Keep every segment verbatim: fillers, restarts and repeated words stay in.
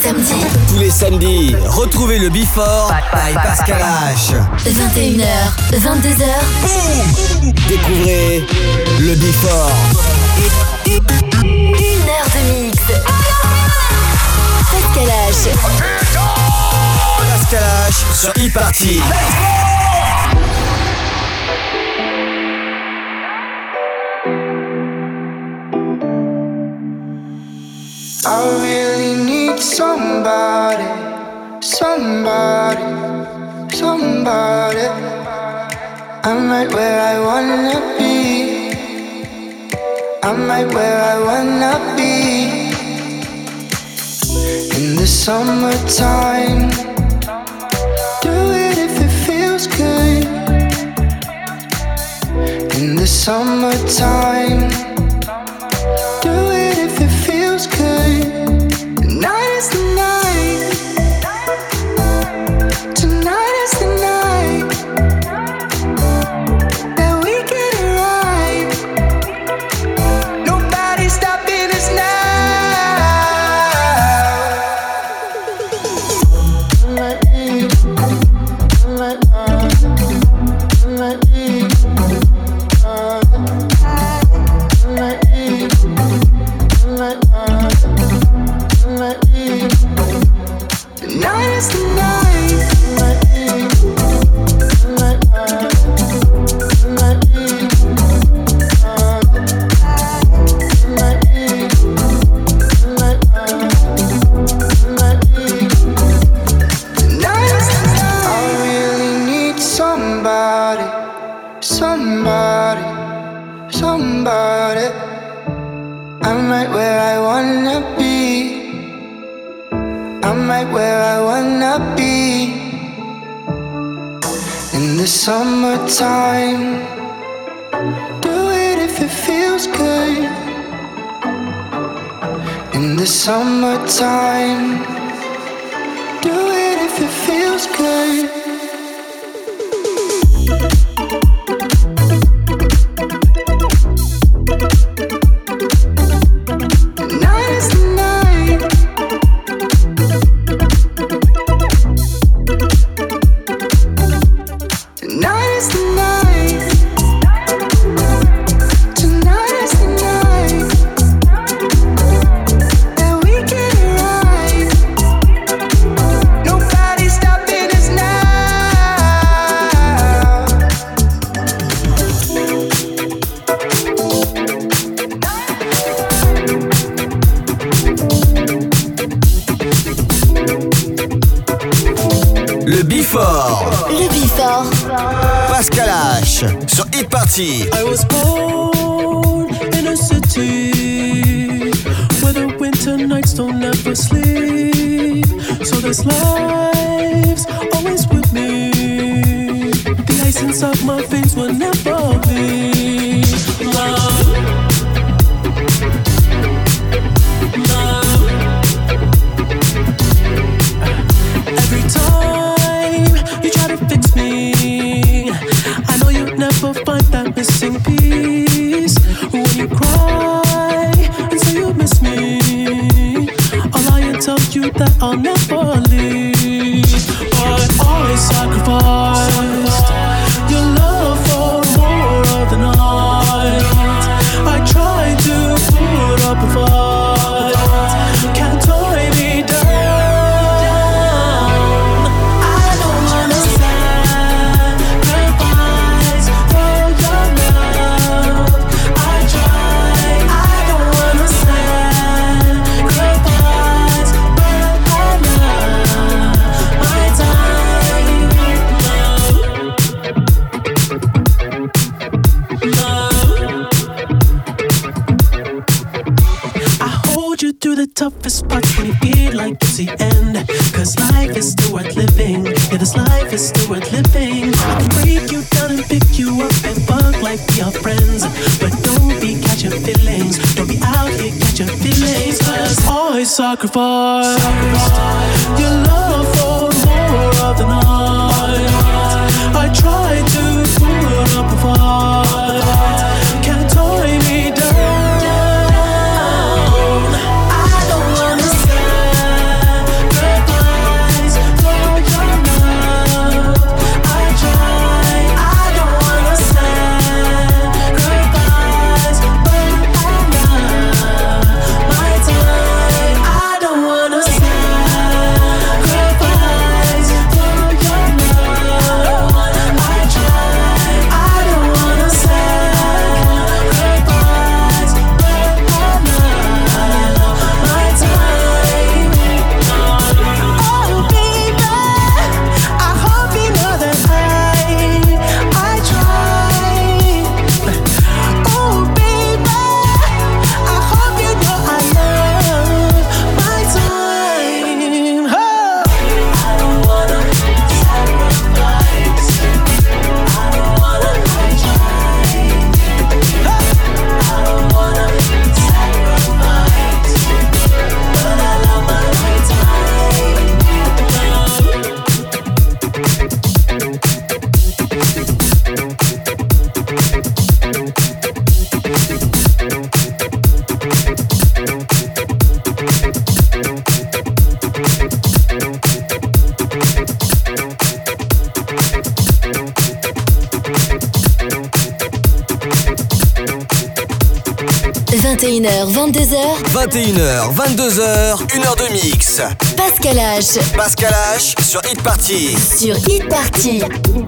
samedis. Tous les samedis, retrouvez le Before by Pascal H. vingt et une heures, vingt-deux heures. Boum. Découvrez le Before. Une heure de mix. Pascal H. Pascal H sur e-party. I really need somebody, somebody, somebody. I'm right where I wanna be. I'm right where I wanna be. In the summertime, do it if it feels good. In the summertime, do it if it feels good. Tonight is the night. Tonight is the night that we get it right. Nobody's stopping us now. Tonight is the night. I really need somebody, somebody, somebody. I'm right where I wanna be. I'm right where I wanna be. In the summertime, do it if it feels good. In the summertime, do it if it feels good. Tonight is the night. Tonight is the night. Tonight is the night that we get it right. Nobody's stopping us now. Le Before. Le Before. Pascal H sur e-party. I was born in a city where the winter nights don't ever sleep. So this life's always with me. The ice inside my veins will never bleed. Love, love. Every time you try to fix me, I know you'll never find that missing piece. When you cry and say you miss me, I'll lie and tell you that I'll never leave. But I sacrificed your love for more of the night. I tried to put up a fight. Can't tie me down. I don't wanna sacrifice for your love. I try. I don't wanna sacrifice, but I love my time. Love, love. I hold you through the toughest parts when you feel like it's the end. Cause life is still worth living. Yeah, this life is still worth living. I can break you down and pick you up and fuck like we are friends. But don't be catching feelings. Don't be out here catching feelings. Cause I sacrificed your love for more of the night. I tried to put up a fight. Can't tie me down. I don't wanna sacrifice vingt et une heures, vingt-deux heures. vingt et une heures, vingt-deux heures, une heure de mix. Pascal H. Pascal H sur Hit Party. Sur Hit Party.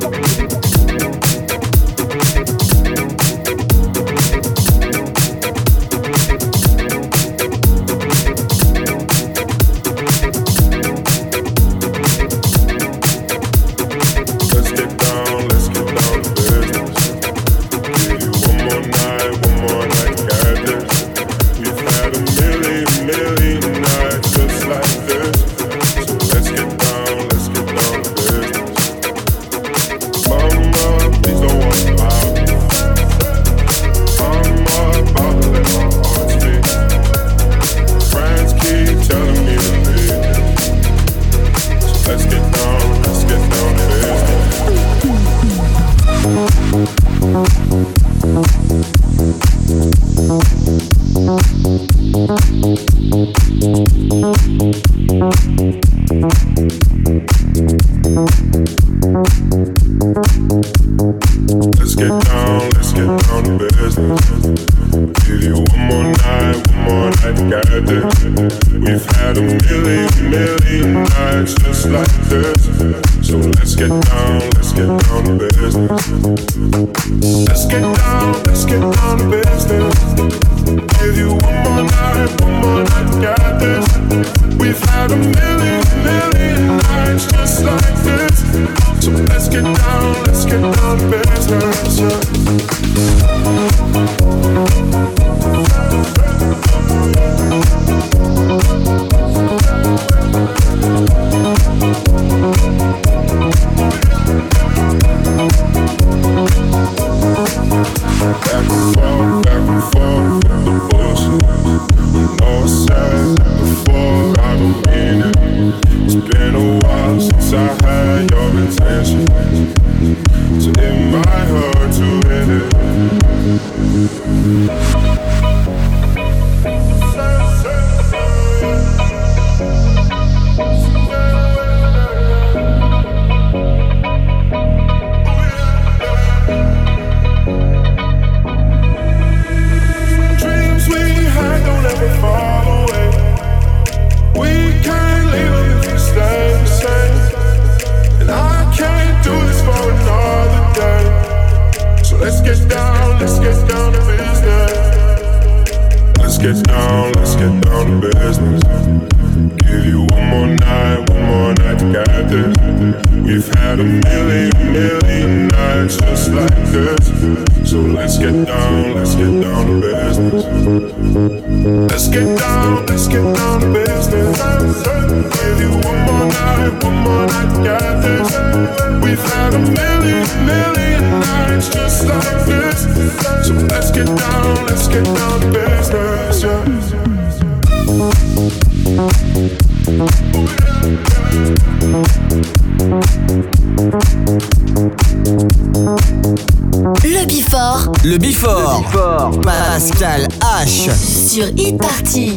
Le Before. Le Before. Pascal H. Sur Hit Party.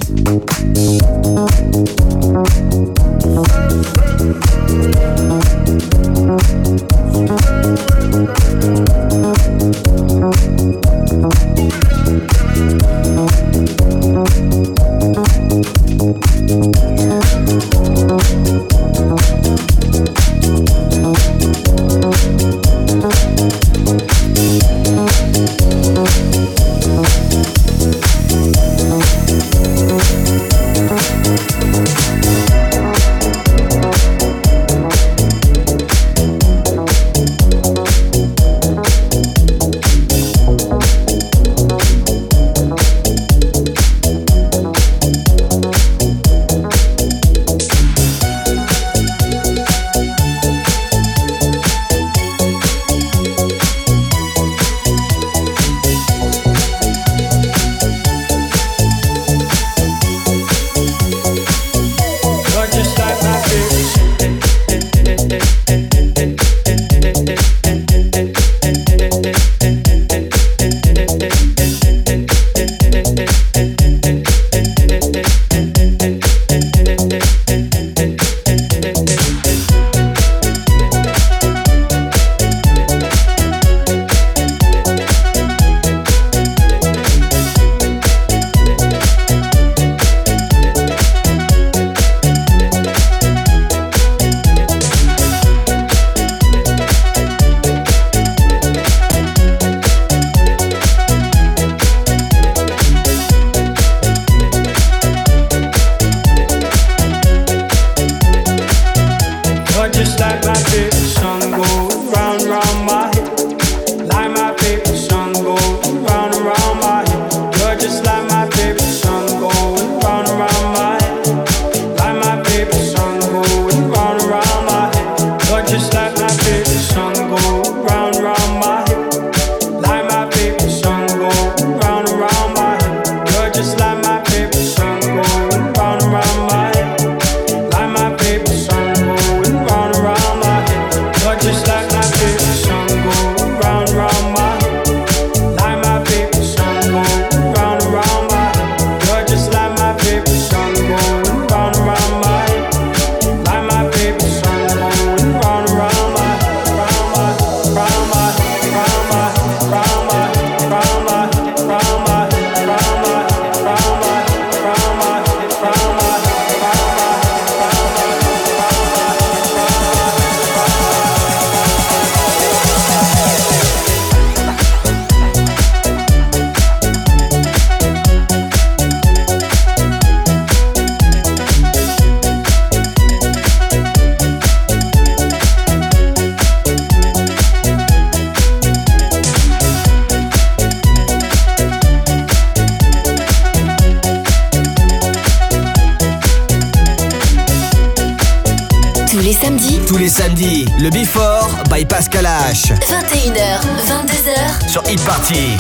Tous les samedis, le Before by Pascal H. vingt et une heures, vingt-deux heures sur Hit Party.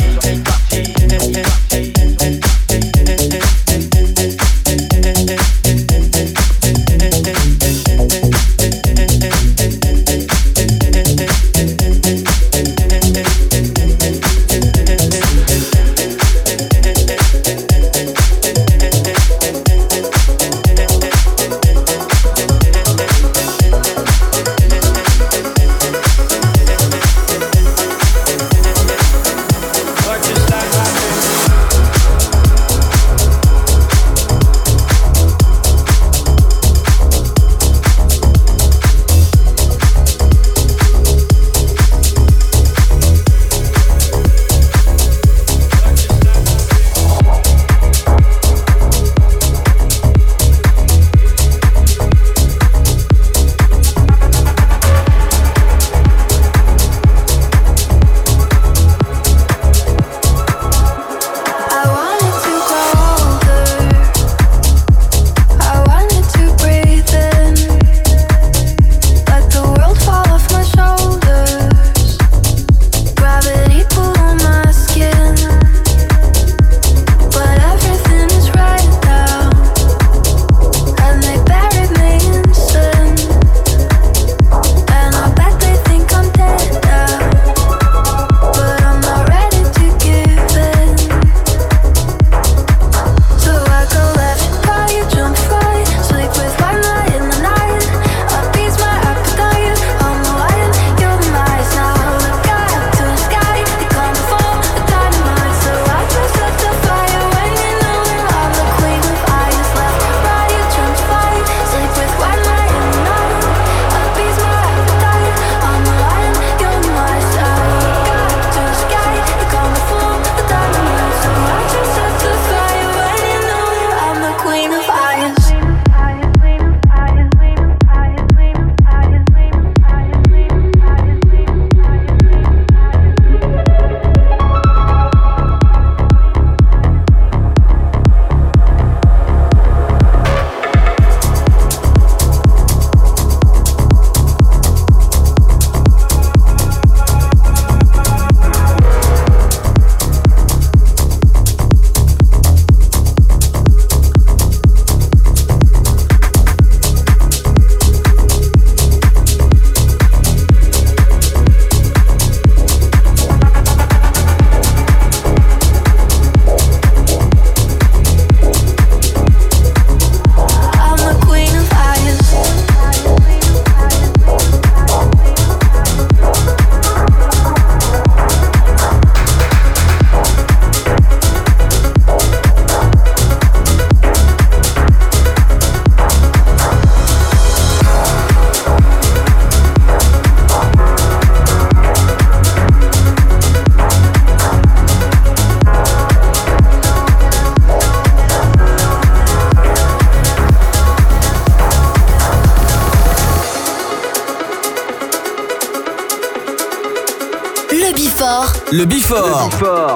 Le Before,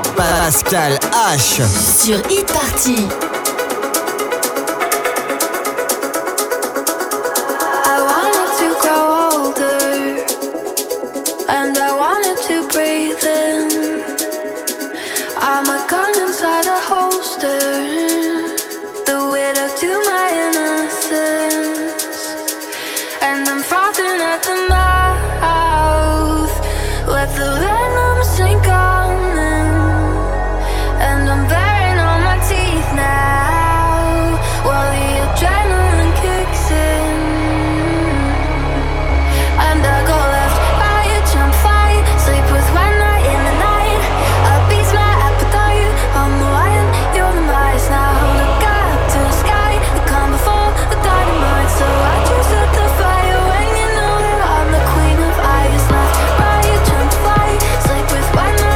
Pascal H. Sur Hit Party. I wanted to grow older, and I wanted to breathe in. I'm a gun inside a holster, the widow to my innocence, and I'm frothing at the mouth. Let the venom sink on in, and I'm baring all my teeth now, while the adrenaline kicks in. And I go left, right, jump, fight, sleep with one night in the night. A beat's my appetite, I'm the lion, you're the mice. Now look up to the sky, the calm before the dynamite. So I just set the fire when you know that I'm the queen of ice. Left, right, jump, fight, sleep with one night.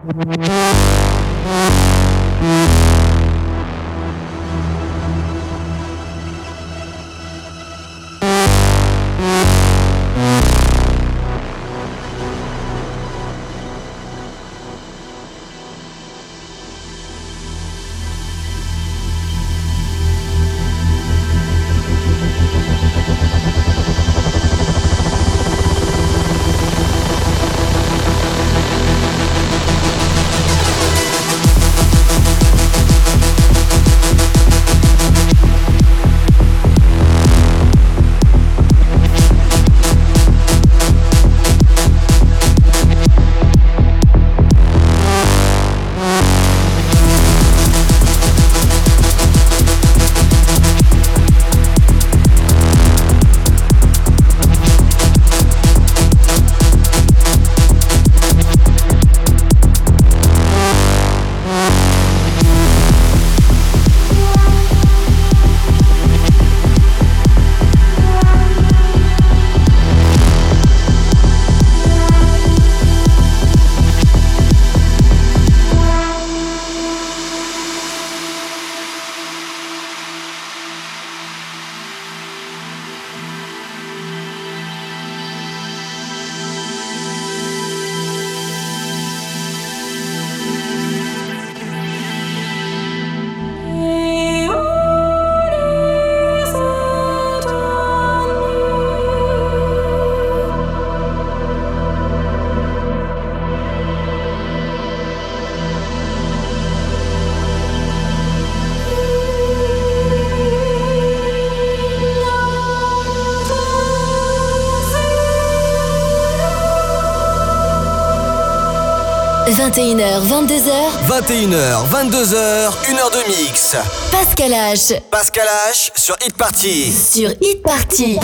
vingt et une heures, vingt-deux heures. vingt et une heures, vingt-deux heures, une heure de mix. Pascal H. Pascal H sur Hit Party. Sur Hit Party.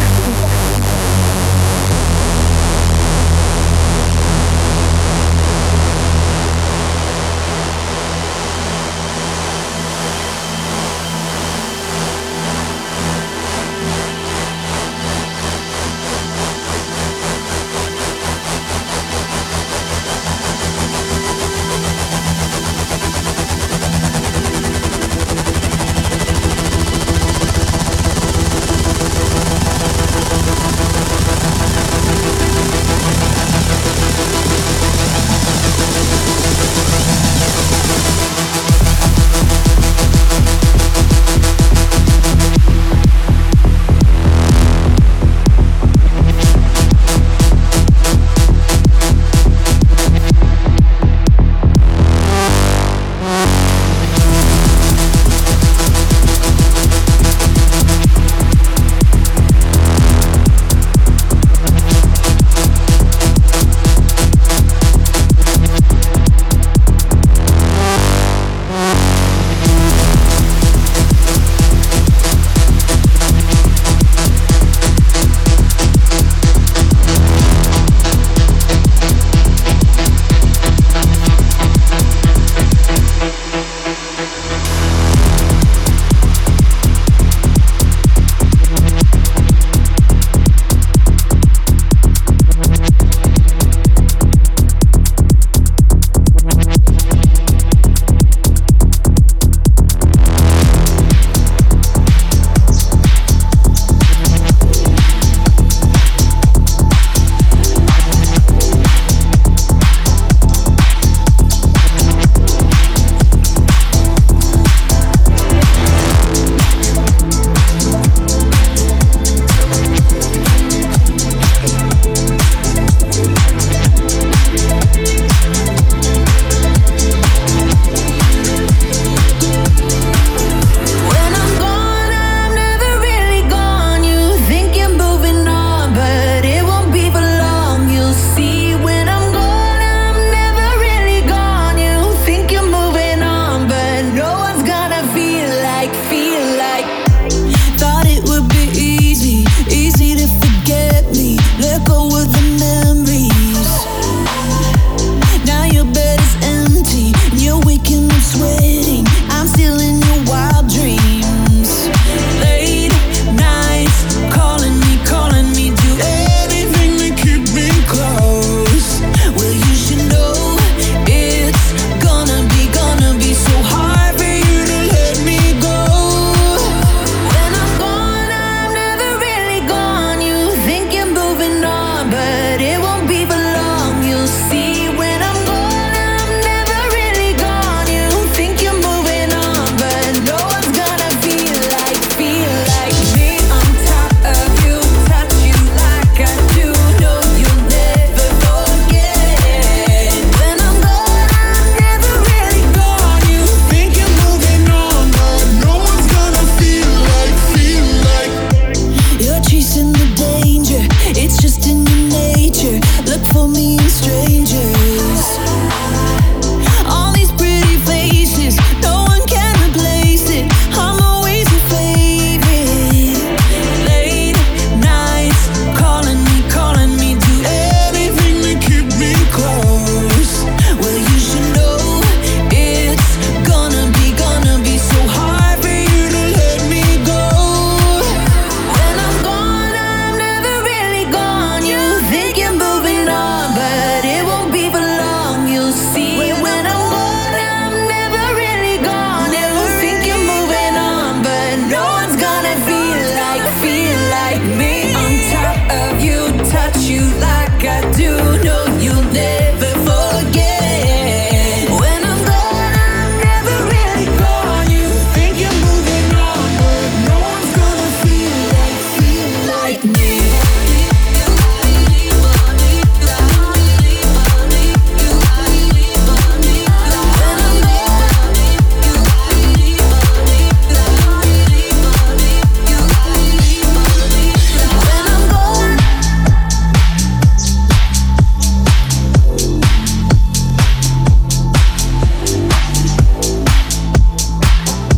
We'll be right back.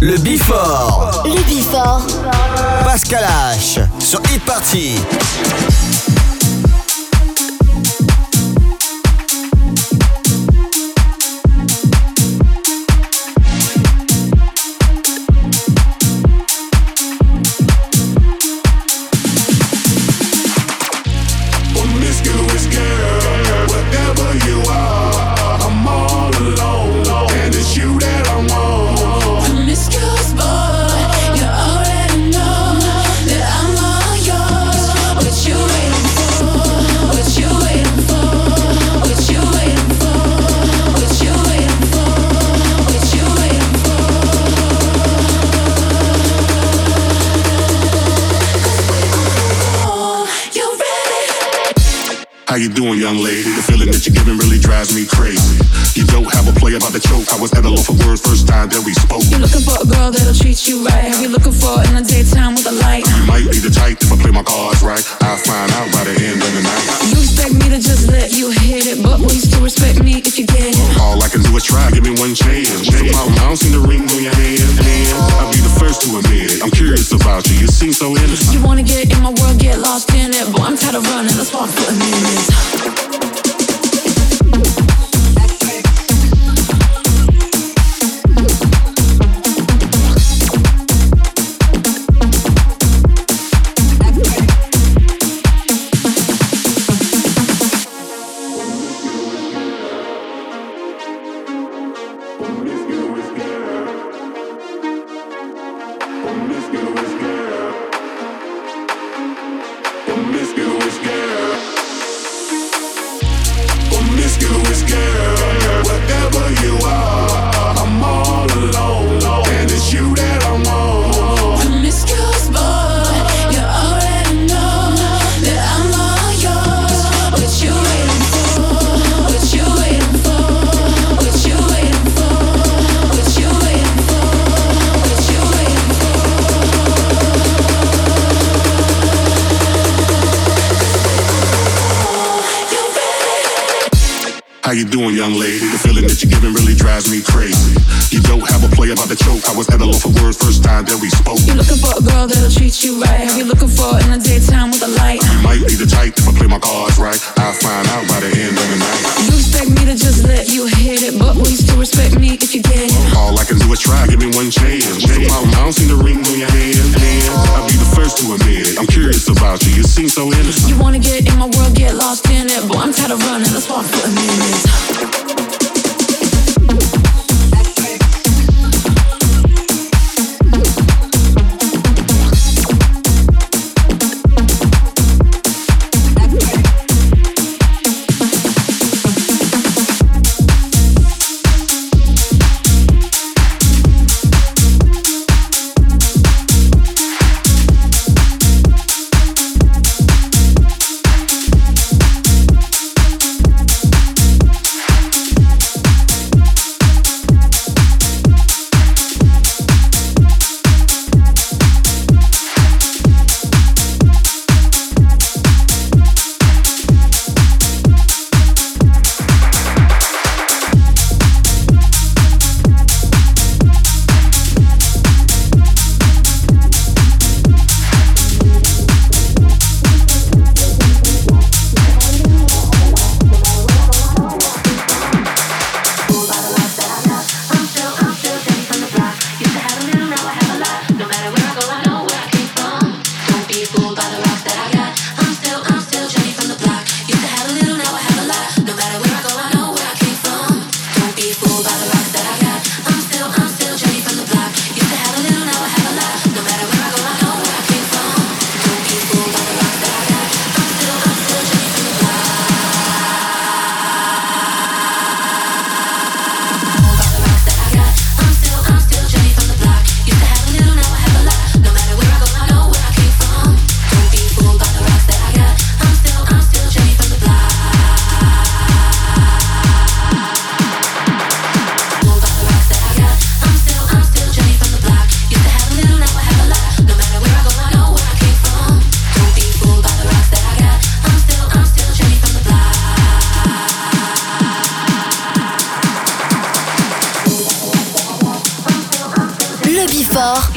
Le Before. Le Before. Pascal H sur Hit Party. How you doing, young lady? The feeling that you're giving really drives me crazy. You don't have a play about the choke. I was at a loaf of words first time that we spoke. You're looking for a girl that'll treat you right. Have you looking for in the daytime with a light? You might be the type if I play my cards right. I'll find out by the end of the night. You expect me to just let you hit it, but will you still respect me if you get it? All I can do is try, give me one chance. What's the problem? I don't see the ring on your hand. Man, I'll be the first to admit it. I'm curious about you. You seem so innocent. You wanna get in my world, get lost in it. Boy, I'm tired of running. Let's walk for a minute. How you doing, young lady? The feeling that you're giving really drives me crazy. You don't have a play about the choke. I was at a loaf of words first time that we spoke. You're looking for a girl that'll treat you right. Have you looking for in the daytime with a light? You might be the type if I play my cards right. I'll find out by the end of the night. You expect me to just let you hit it, but will you still respect me if you get it? All I can do is try, give me one chance. What's the problem? I don't see the ring on your hand. Man, I'll be the first to admit it. I'm curious about you. You seem so innocent. You wanna get in my world, get lost in it. Boy, I'm tired of running. Let's walk for a minute.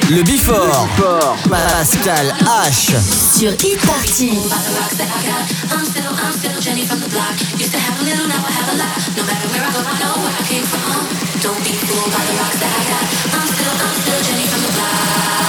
Le Before. Pascal H. Sur Hit Party. Don't be fooled by the rocks that I got. I'm still, I'm still Jenny from the block.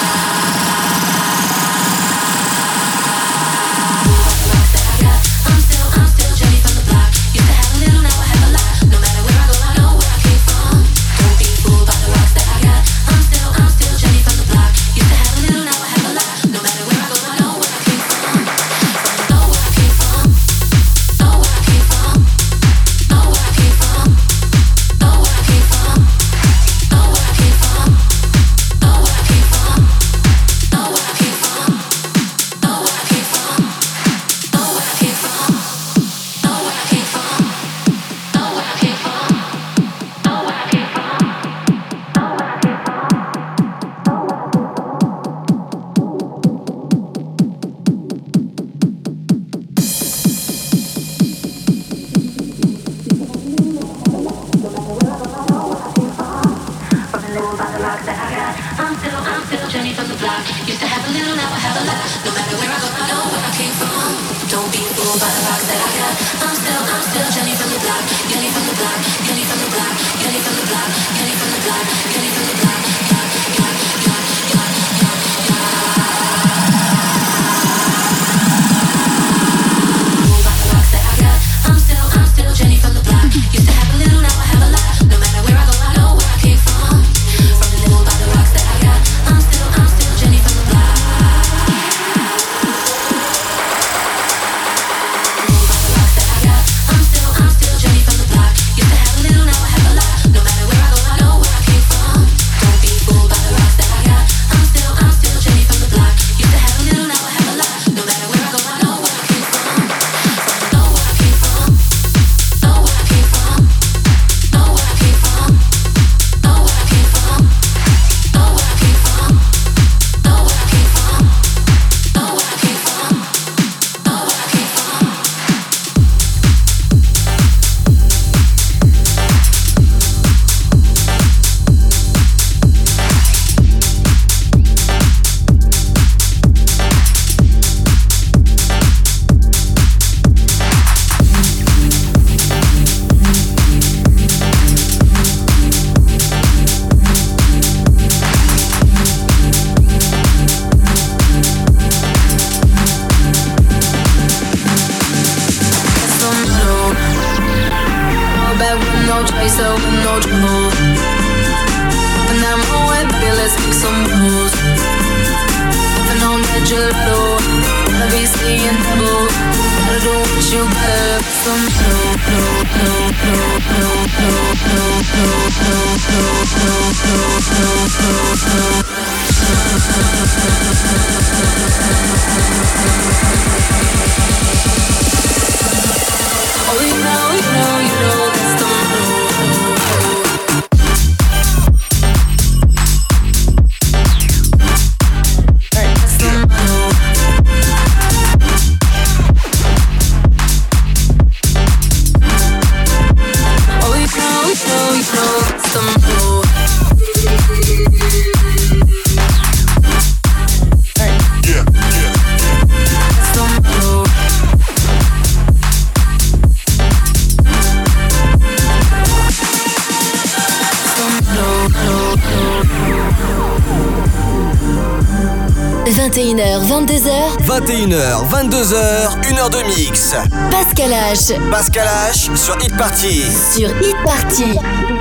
vingt et une heures, vingt-deux heures. vingt et une heures, vingt-deux heures, une heure de mix. Pascal H. Pascal H sur Hit Party. Sur Hit Party.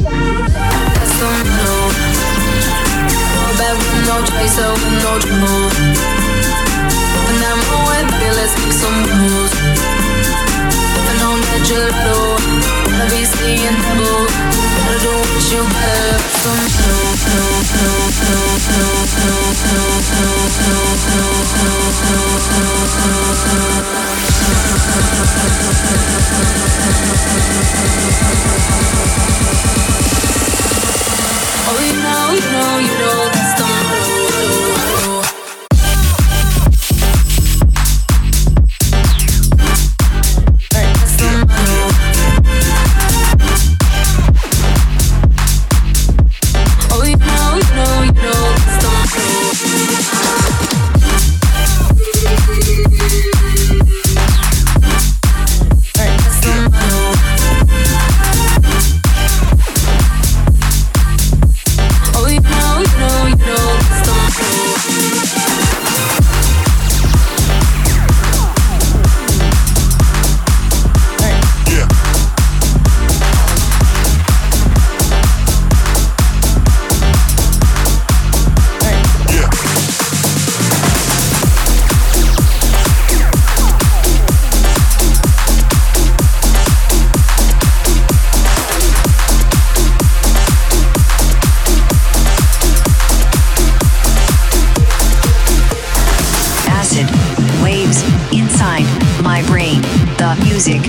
Oh, you know, you know, you know that's the move.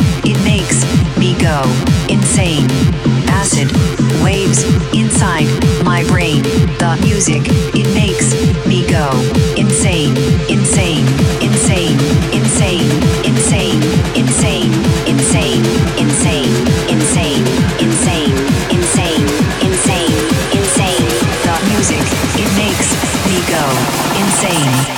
it makes me go insane. Acid waves inside my brain. The music, it makes me go insane, insane, insane, insane, insane, insane, insane, insane, insane, insane, insane, insane, insane. The music, it makes me go insane.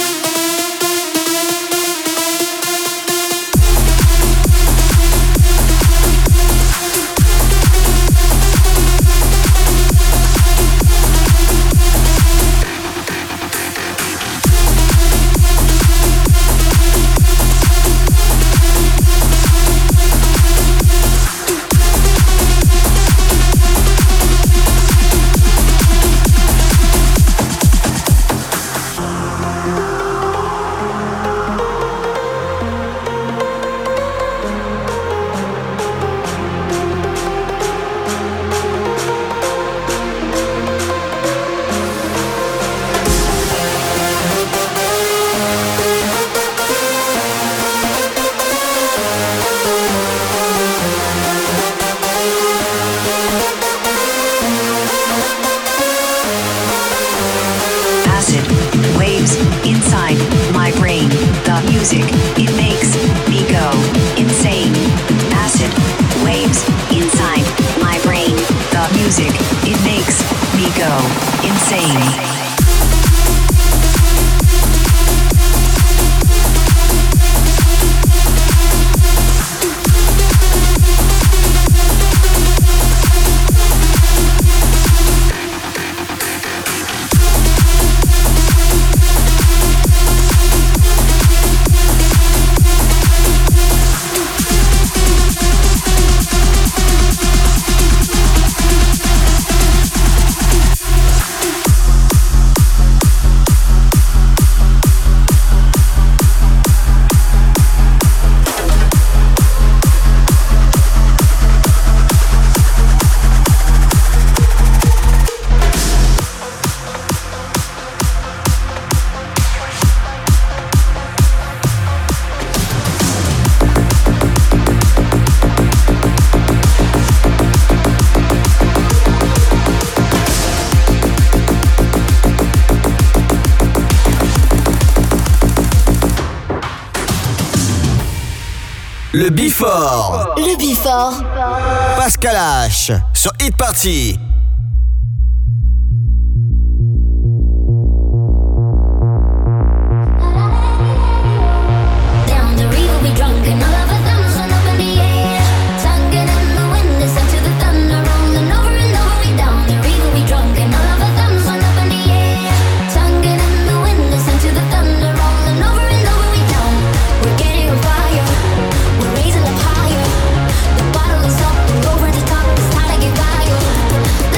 Le Before. Le Before. Pascal H sur Hit Party. Raising up higher, the bottle is up, we're over the top, it's time to get by you.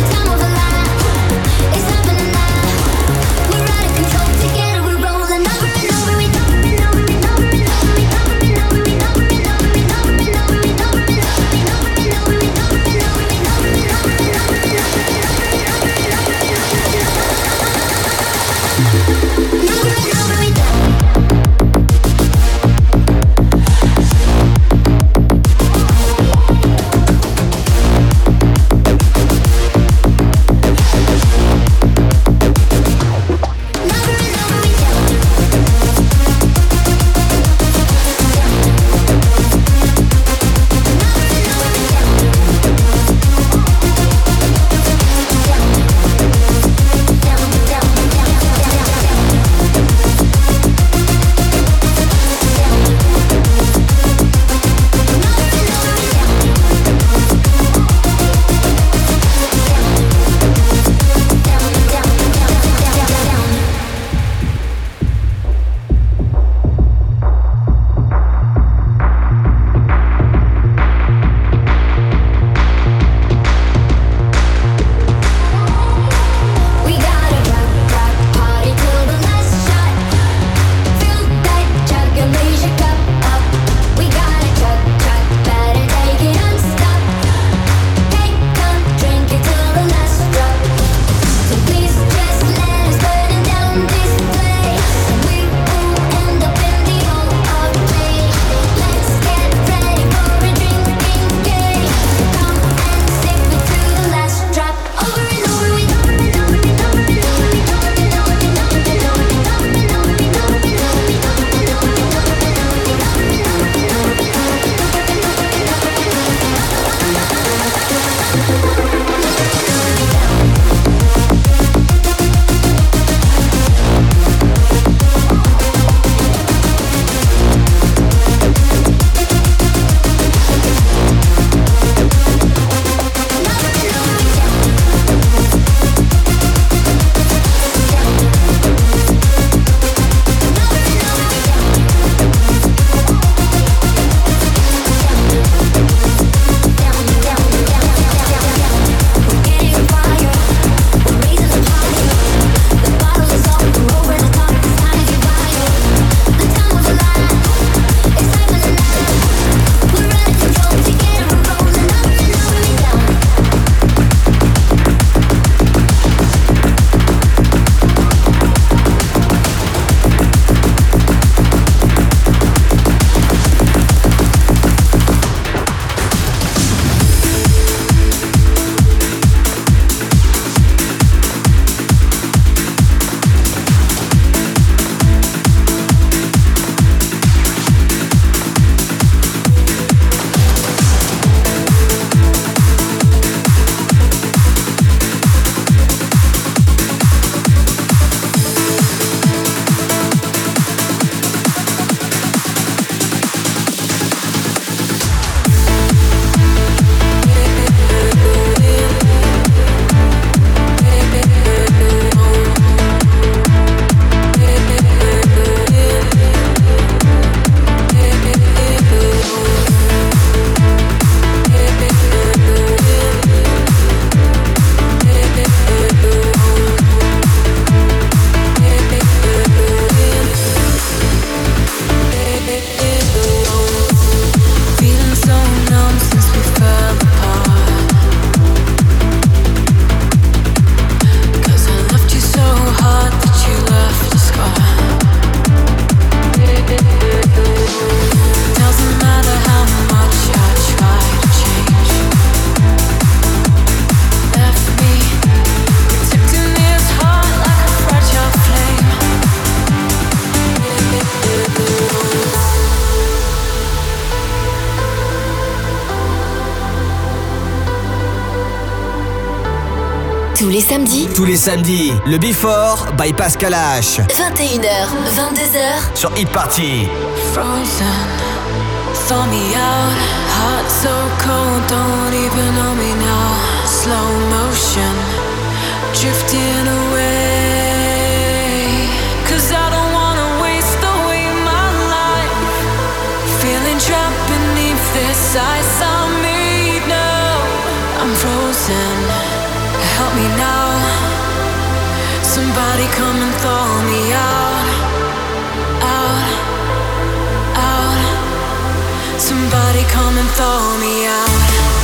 Tous les samedis. Tous les samedis, le Before by Pascal H. vingt et une heures, vingt-deux heures. Sur Hit Party. Frozen, thaw me out. Heart so cold, don't even know me now. Slow motion, drifting away. Cause I don't wanna waste away my life. Feeling trapped beneath this ice I made now. I'm frozen, help me now. Somebody come and thaw me out. Out, out. Somebody come and thaw me out.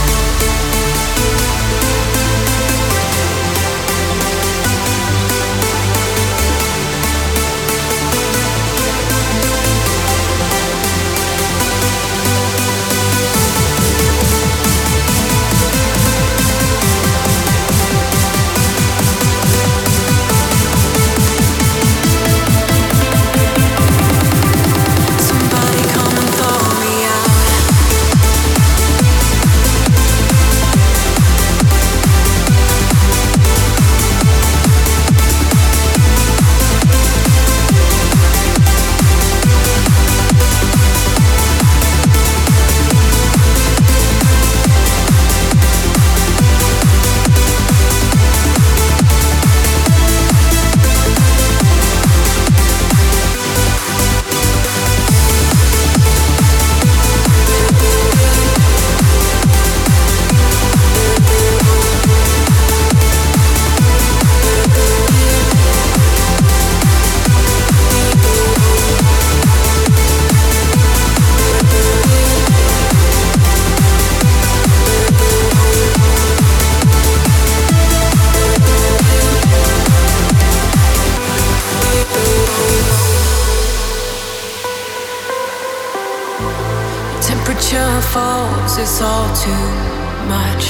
It's all too much.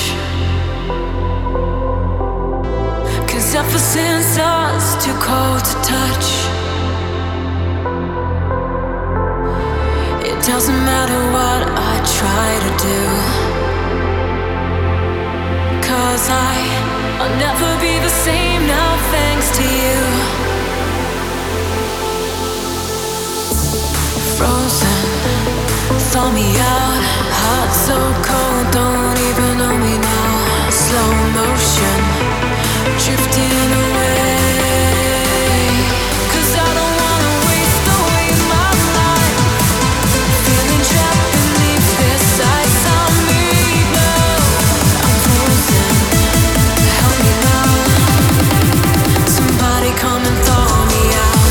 Cause ever since I was too cold to touch, it doesn't matter what I try to do. Cause I, I'll never be the same now thanks to you. Frozen, thaw me out. Heart so cold, don't even know me now. Slow motion, drifting away. Cause I don't wanna waste away my life. Feeling trapped beneath this ice I made now. I'm frozen, help me now. Somebody come and thaw me out.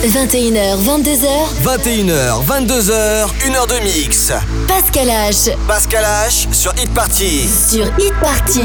vingt et une heures, vingt-deux heures. vingt et une heures, vingt-deux heures, une heure de mix. Pascal H. Pascal H sur Hit Party. Sur Hit Party.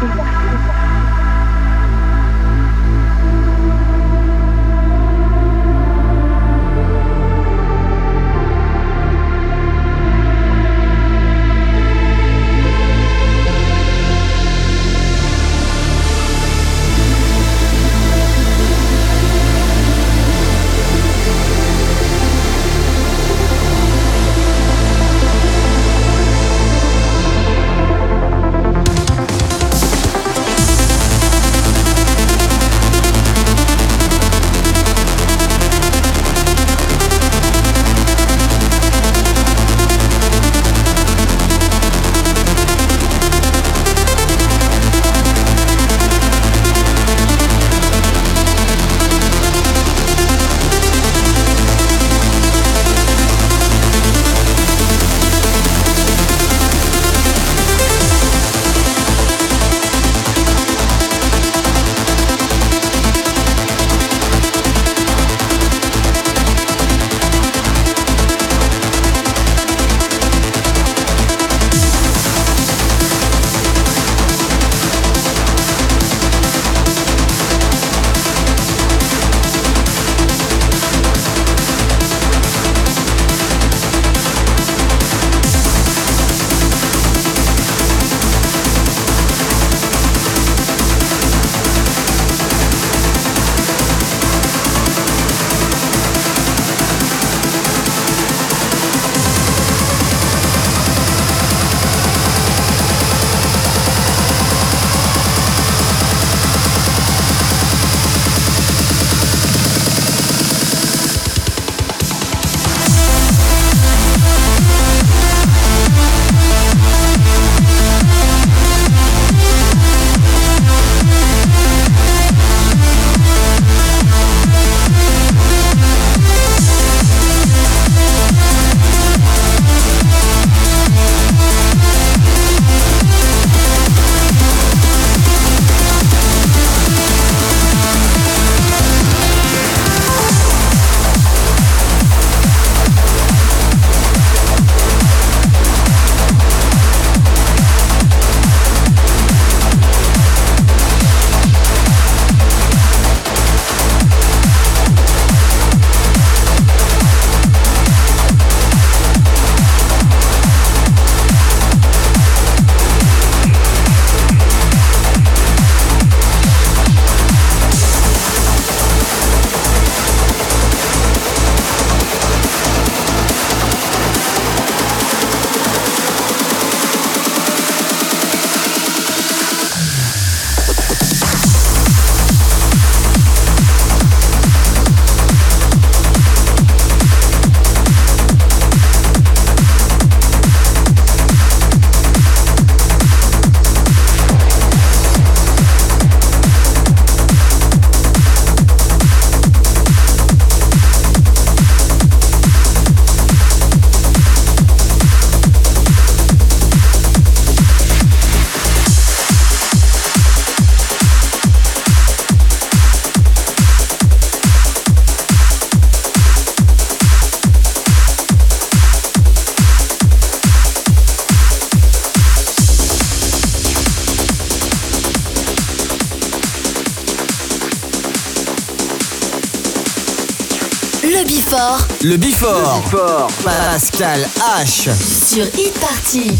Le Before. Le Before. Le Before. Pascal H. Sur Hit Party.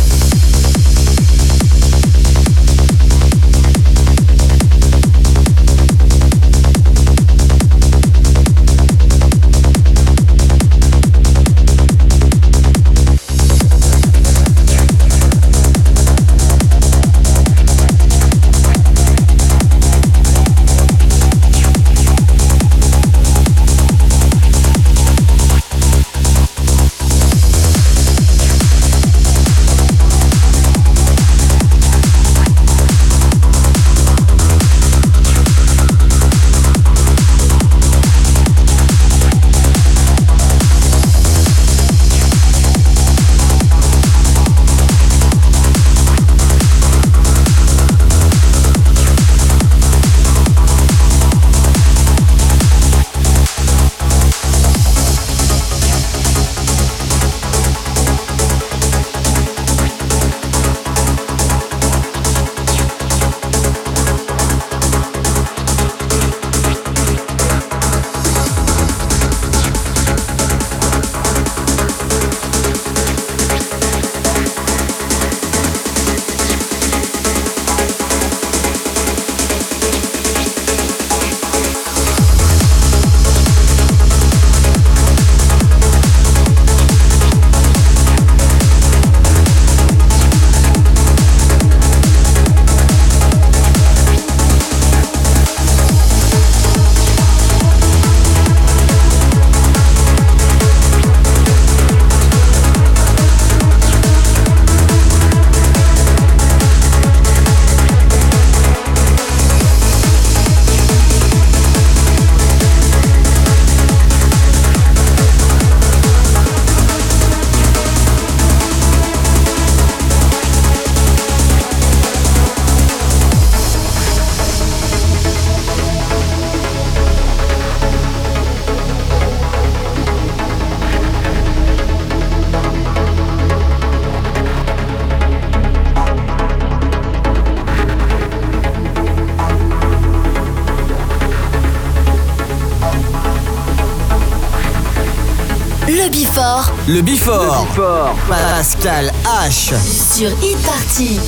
We'll be right back. Before. Le Before. Le Before. Pascal H. Sur Hit Party.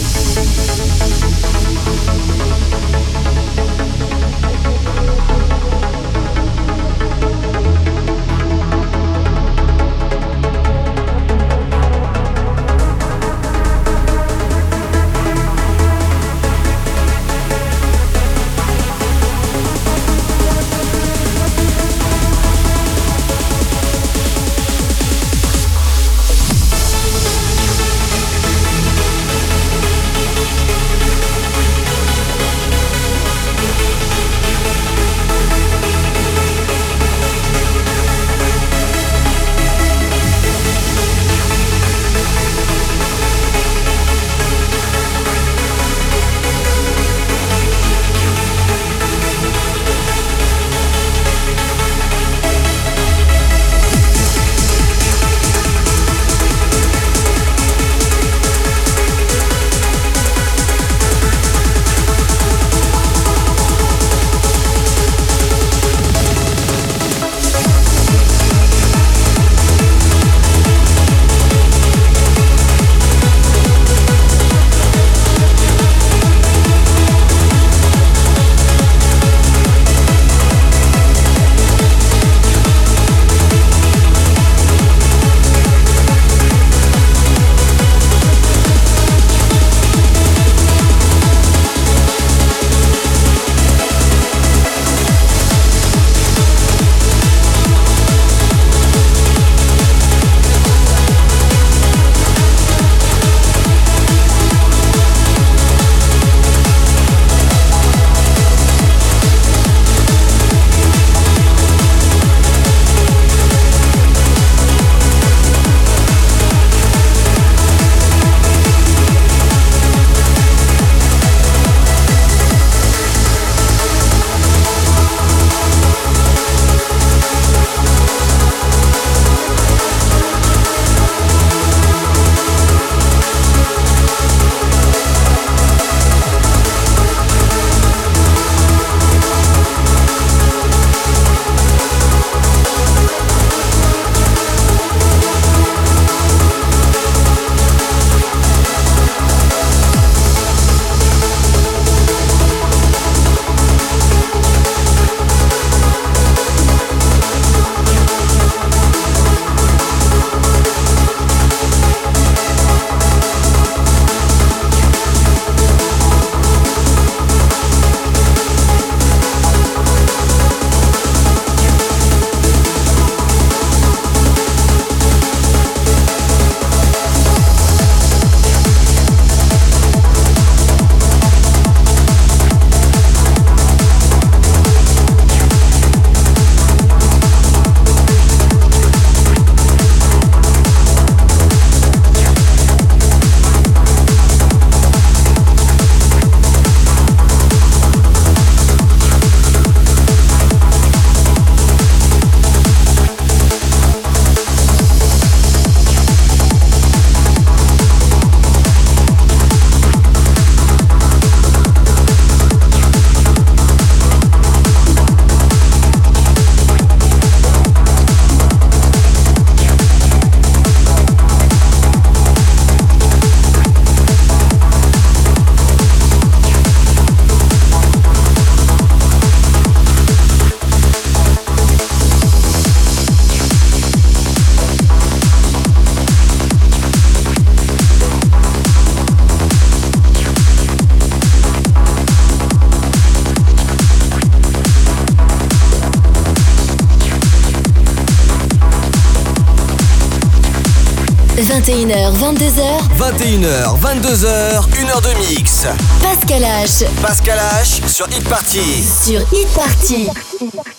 vingt et une heures, vingt-deux heures. vingt et une heures, vingt-deux heures, une heure de mix. Pascal H. Pascal H sur Hit Party. Sur Hit Party.